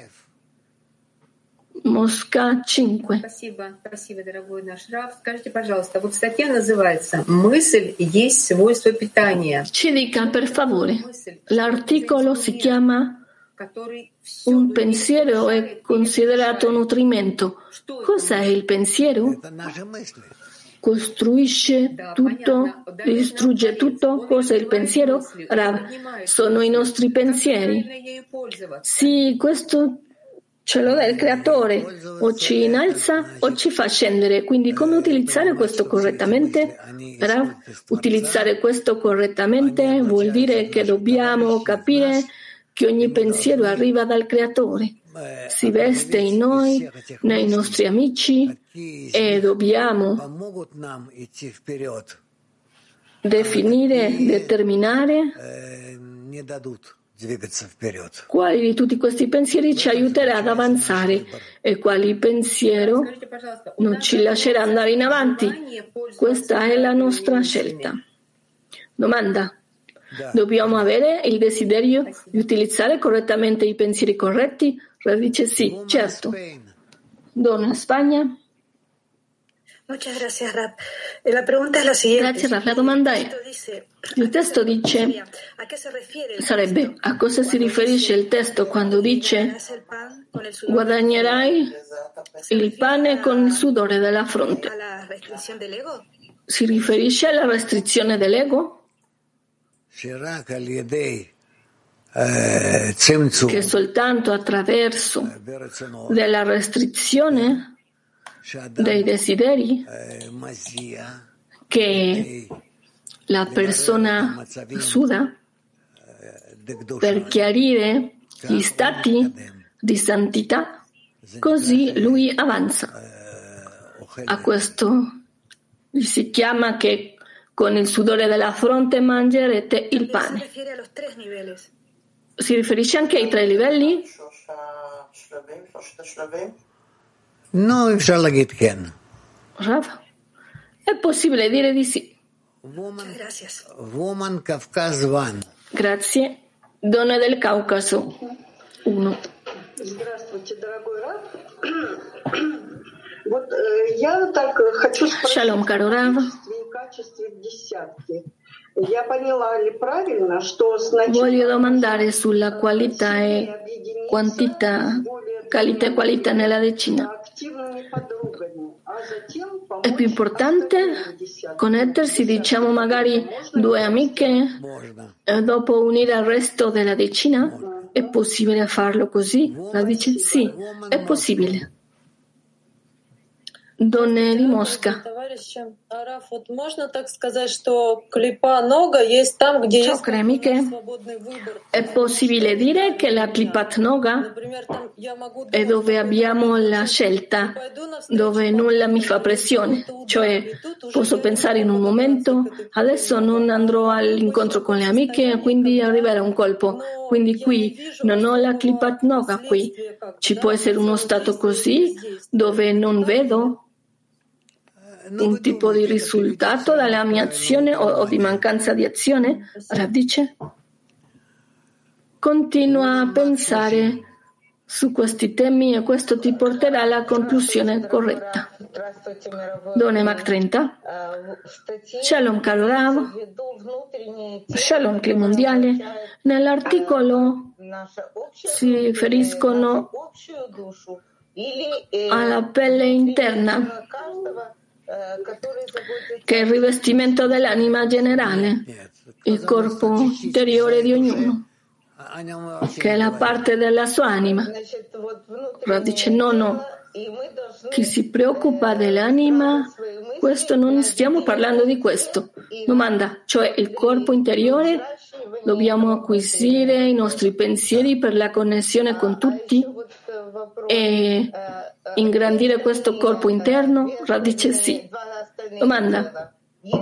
Mosca cinque. Спасибо, спасибо, дорогой наш Рав. Скажите, пожалуйста, вот статья называется «Мысль есть свойство питания». Ci dica, per favore, l'articolo si chiama «Un pensiero è considerato nutrimento». Cos'è il pensiero? Costruisce tutto, distrugge tutto. Cos'è il pensiero? Rav, sono i nostri pensieri. Sì, questo ce lo dà il creatore, o ci innalza o ci fa scendere. Quindi come utilizzare questo correttamente? Rav, utilizzare questo correttamente vuol dire che dobbiamo capire che ogni pensiero arriva dal creatore, si veste in noi, nei nostri amici, e dobbiamo definire, determinare quali di tutti questi pensieri ci aiuterà ad avanzare e quali pensiero non ci lascerà andare in avanti. Questa è la nostra scelta. Domanda. Dobbiamo avere il desiderio di utilizzare correttamente i pensieri corretti? Rav dice sì, certo. Donna Spagna. Grazie Rav. La domanda è, il testo dice, sarebbe, a cosa si riferisce il testo quando dice guadagnerai il pane con il sudore della fronte? Si riferisce alla restrizione dell'ego? Che soltanto attraverso della restrizione dei desideri che la persona suda per chiarire gli stati di santità, così lui avanza. A questo si chiama che con il sudore della fronte mangerete il pane. Si riferisce anche ai tre livelli? No, Rav, è possibile dire di sì. Woman Kafkaz one. Grazie. Donna del Caucaso uno. Shalom, caro Rav. Voglio domandare sulla qualità e quantità, qualità e qualità nella decina. È più importante connettersi, diciamo magari due amiche e dopo unire al resto della decina? È possibile farlo così? La dice sì, è possibile. Donne di Mosca. Ciao, cremi che è possibile dire che la Klipat Noga è dove abbiamo la scelta, dove nulla mi fa pressione, cioè posso pensare in un momento, adesso non andrò all'incontro con le amiche, quindi arriverà un colpo, quindi qui non ho la Klipat Noga qui. Ci può essere uno stato così dove non vedo un tipo di risultato dalla mia azione o, o di mancanza di azione? Radice? Continua a pensare su questi temi e questo ti porterà alla conclusione corretta. Done Mac trenta. Shalom caro Rav. Shalom Cli mondiale. Nell'articolo si riferiscono alla pelle interna, che è il rivestimento dell'anima generale, il corpo interiore di ognuno, che è la parte della sua anima. Però dice no, no, chi si preoccupa dell'anima, questo non stiamo parlando di questo. Domanda, cioè il corpo interiore, dobbiamo acquisire i nostri pensieri per la connessione con tutti e ingrandire questo corpo interno? Radice sì. Domanda.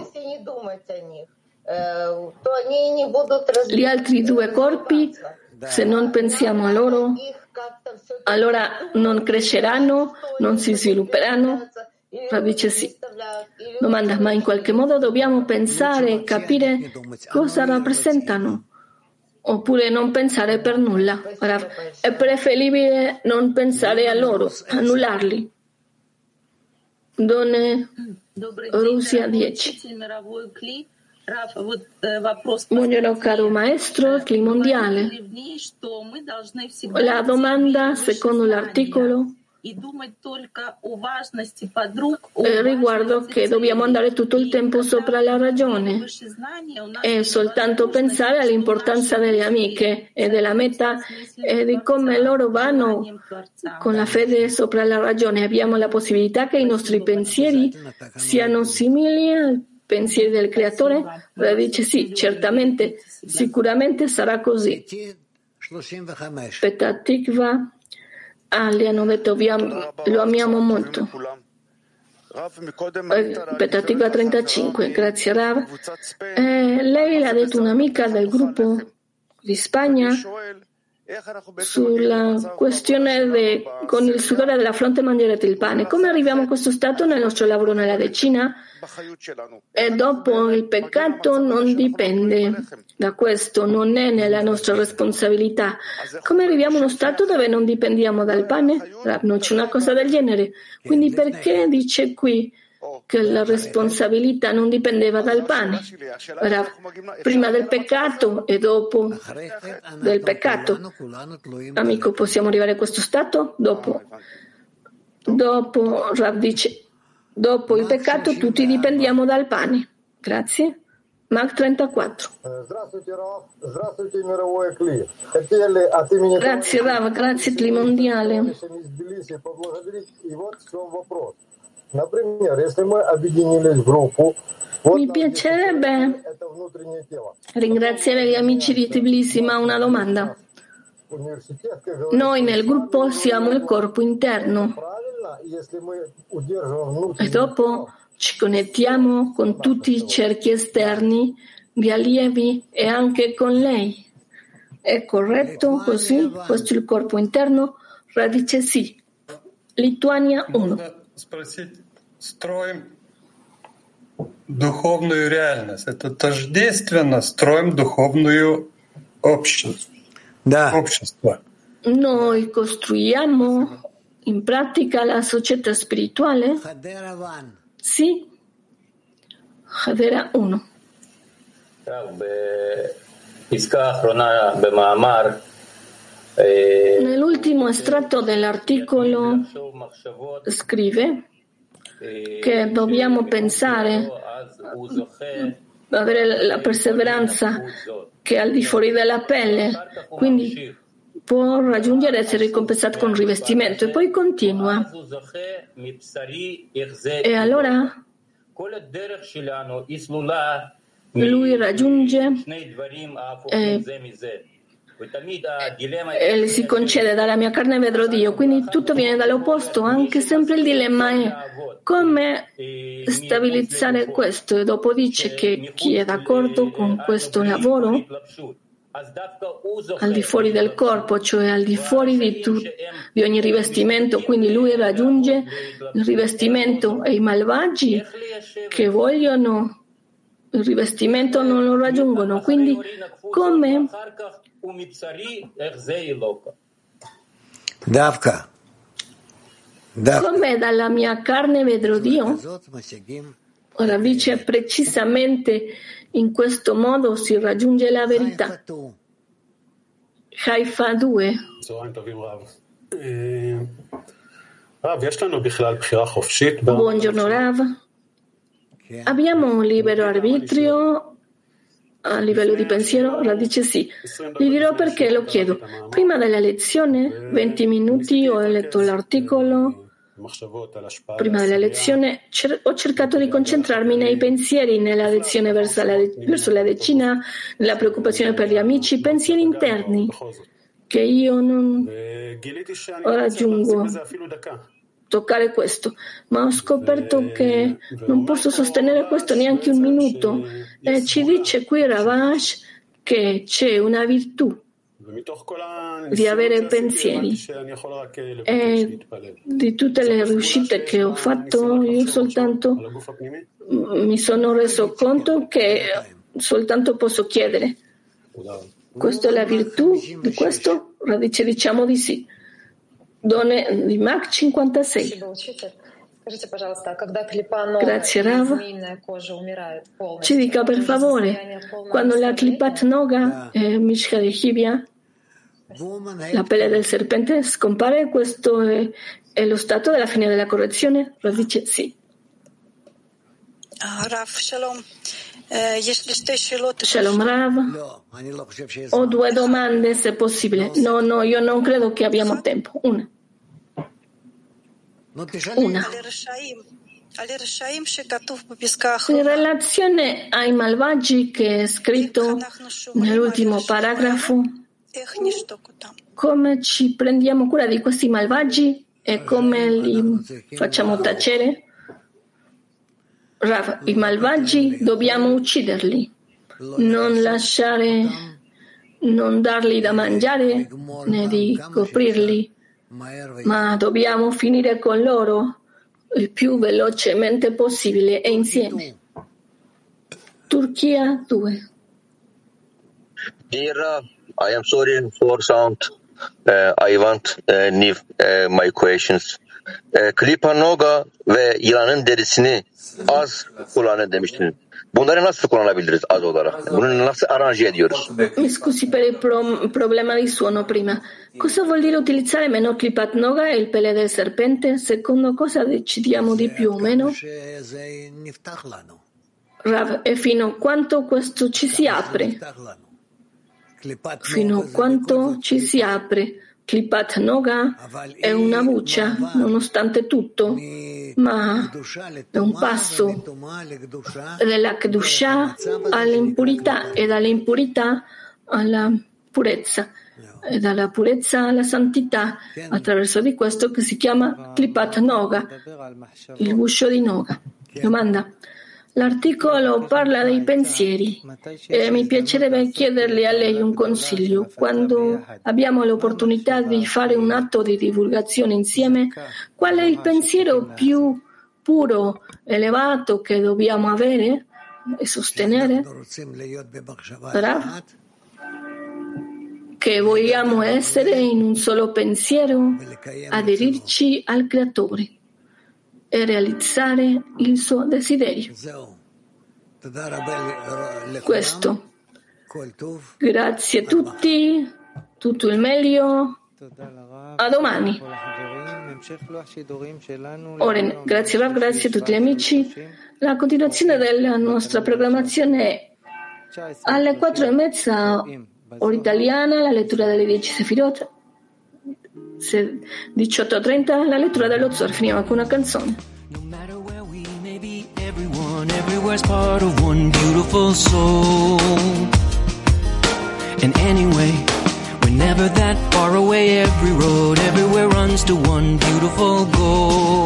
Gli altri due corpi, se non pensiamo a loro, allora non cresceranno, non si svilupperanno? Radice sì. Domanda, ma in qualche modo dobbiamo pensare e capire cosa rappresentano? Oppure non pensare per nulla? È preferibile non pensare a loro, annullarli. Donne Russia dieci. Buongiorno caro maestro, Cli mondiale. La domanda, secondo l'articolo, Eh, riguardo che dobbiamo andare tutto il tempo sopra la ragione e soltanto pensare all'importanza delle amiche e della meta e di come loro vanno con la fede sopra la ragione. Abbiamo la possibilità che i nostri pensieri siano simili ai pensieri del Creatore? Lei dice sì, certamente, sicuramente sarà così. Petah Tikva. Ah, gli hanno detto lo amiamo molto. Petah Tikva trentacinque, grazie Rav. Eh, lei l'ha detto un'amica del gruppo di Spagna sulla questione de, con il sudore della fronte mangerete il pane. Come arriviamo a questo stato nel nostro lavoro nella decina? E dopo il peccato non dipende da questo, non è nella nostra responsabilità. Come arriviamo a uno stato dove non dipendiamo dal pane? Non c'è una cosa del genere. Quindi perché dice qui che la responsabilità non dipendeva dal pane, era prima del peccato e dopo del peccato. Amico, possiamo arrivare a questo stato? Dopo, dopo Rav dice, dopo il peccato tutti dipendiamo dal pane. Grazie. Mac trentaquattro. Grazie Rav, grazie Tli Mondiale. Mi piacerebbe ringraziare gli amici di Tbilisi, ma una domanda. Noi nel gruppo siamo il corpo interno e dopo ci connettiamo con tutti i cerchi esterni di allievi e anche con lei. È corretto così? Questo è il corpo interno? Radice sì. Lituania uno. Строим духовную реальность. Это тождественно строим духовную общность. Да. Общество. Noi costruiamo in pratica la società spirituale? Sì. Hadera uno. Nell'ultimo estratto dell'articolo scrive che dobbiamo pensare, avere la perseveranza che è al di fuori della pelle, quindi può raggiungere essere ricompensato con rivestimento. E poi continua. E allora lui raggiunge eh, e si concede dalla mia carne vedrò Dio, quindi tutto viene dall'opposto. Anche sempre il dilemma è come stabilizzare questo, e dopo dice che chi è d'accordo con questo lavoro al di fuori del corpo, cioè al di fuori di, tu, di ogni rivestimento, quindi lui raggiunge il rivestimento, e i malvagi che vogliono il rivestimento non lo raggiungono. Quindi come Davka. Davka. Come dalla mia carne vedrò Dio? Ora dice precisamente in questo modo si raggiunge la verità. Haifa due. Buongiorno Rav. Abbiamo un libero arbitrio a livello di pensiero? Rav dice sì. Gli dirò perché, lo chiedo. Prima della lezione, venti minuti, ho letto l'articolo. Prima della lezione cer- ho cercato di concentrarmi nei pensieri, nella lezione verso la, de- verso la decina, nella preoccupazione per gli amici, pensieri interni che io non raggiungo toccare questo, ma ho scoperto che non posso sostenere questo neanche un minuto. E ci dice qui Ravash che c'è una virtù di avere pensieri, e di tutte le riuscite che ho fatto io soltanto mi sono reso conto che soltanto posso chiedere. Questa è la virtù di questo? Radice diciamo di sì. Donne di Mac cinquantasei. Grazie Rav. Ci dica per favore, quando la Klipat Noga e Mishka di Hibia, la pelle del serpente scompare, questo è, è lo stato della fine della correzione? Rav dice sì. Rav, shalom. Shalom Rav. Ho due domande se possibile. No, no, io non credo che abbiamo tempo. Una. Una. In relazione ai malvagi che è scritto nell'ultimo paragrafo, come ci prendiamo cura di questi malvagi e come li facciamo tacere? Rav, i malvagi dobbiamo ucciderli, non lasciare, non darli da mangiare né di coprirli, ma dobbiamo finire con loro il più velocemente possibile e insieme. Turchia due. Dear Rav, I am sorry for sound. Uh, I want uh, leave uh, my questions. e, klipa noga ve yılanın derisini az kullanın demiştin. Bunları nasıl kullanabiliriz az olarak? Bunu nasıl aranje ediyoruz? Mi scusi per il pro- problema di suono prima. Cosa vuol dire utilizzare meno klipat noga e il pelle del serpente? Secondo cosa decidiamo di più o meno? Rav, e fino a quanto questo ci si apre? Fino a quanto ci si apre. Klipat Noga è una buccia, nonostante tutto, ma è un passo dalla Kedusha all'impurità e dall'impurità alla purezza e dalla purezza alla santità, attraverso di questo che si chiama Klipat Noga, il guscio di Noga. Domanda. L'articolo parla dei pensieri e mi piacerebbe chiederle a lei un consiglio. Quando abbiamo l'opportunità di fare un atto di divulgazione insieme, qual è il pensiero più puro, elevato che dobbiamo avere e sostenere? Rav? Che vogliamo essere in un solo pensiero, aderirci al Creatore e realizzare il suo desiderio. Questo. Grazie a tutti, tutto il meglio. A domani. Oren, grazie Rav, grazie a tutti gli amici. La continuazione della nostra programmazione è alle quattro e mezza ora italiana, la lettura delle dieci Sefirot. diciotto e trenta la lettura dello Zohar. Finiamo con una canzone. Everyone, everywhere's part of one beautiful soul. And anyway, we're never that far away. Every road, everywhere runs to one beautiful goal.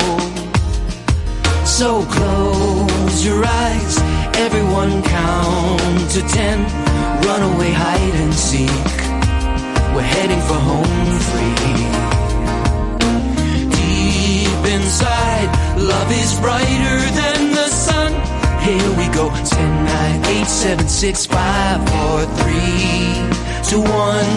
So close your eyes, everyone count to ten. Run away, hide and seek. We're heading for home free. Deep inside, love is brighter than the sun. Here we go. ten, nine, eight, seven, six, five, four, three, two, one.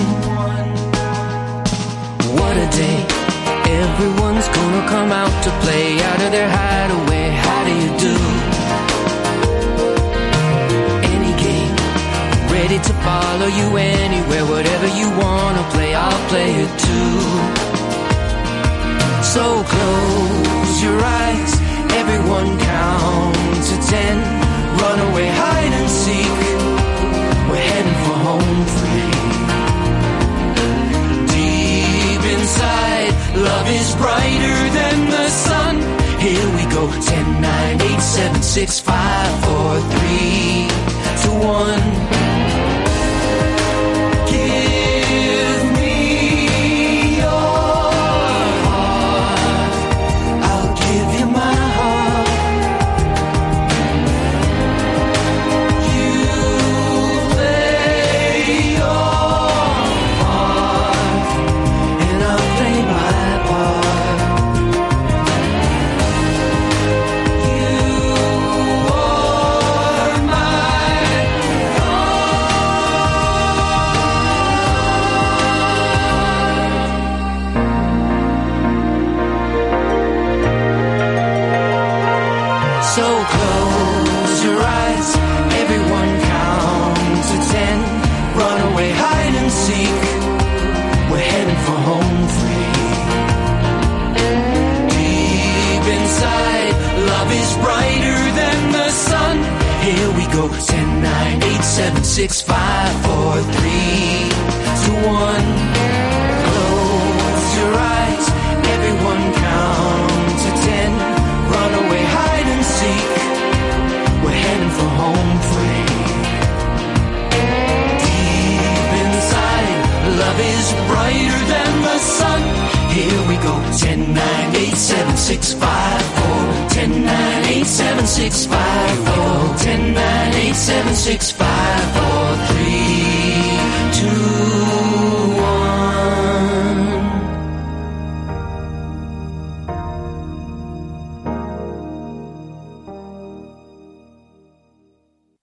What a day. Everyone's gonna come out to play out of their hideaway. How do you do? Any game, ready to follow you anywhere. Whatever you wanna play, I'll play it too. So close your eyes, everyone count to ten. Run away, hide and seek. We're heading for home free. Deep inside, love is brighter than the sun. Here we go. ten, nine, eight, seven, six, five, four, three, two, one. ten, nine, eight, seven, six, five, four, three, two, one. Close your eyes, everyone count to ten. Run away, hide and seek. We're heading for home free. Deep inside, love is brighter than the sun. Here we go. ten, nine, eight, seven, six, five, four. ten, nine, eight, seven, six, five, four. ten, nine, eight, seven, six, five, four, three.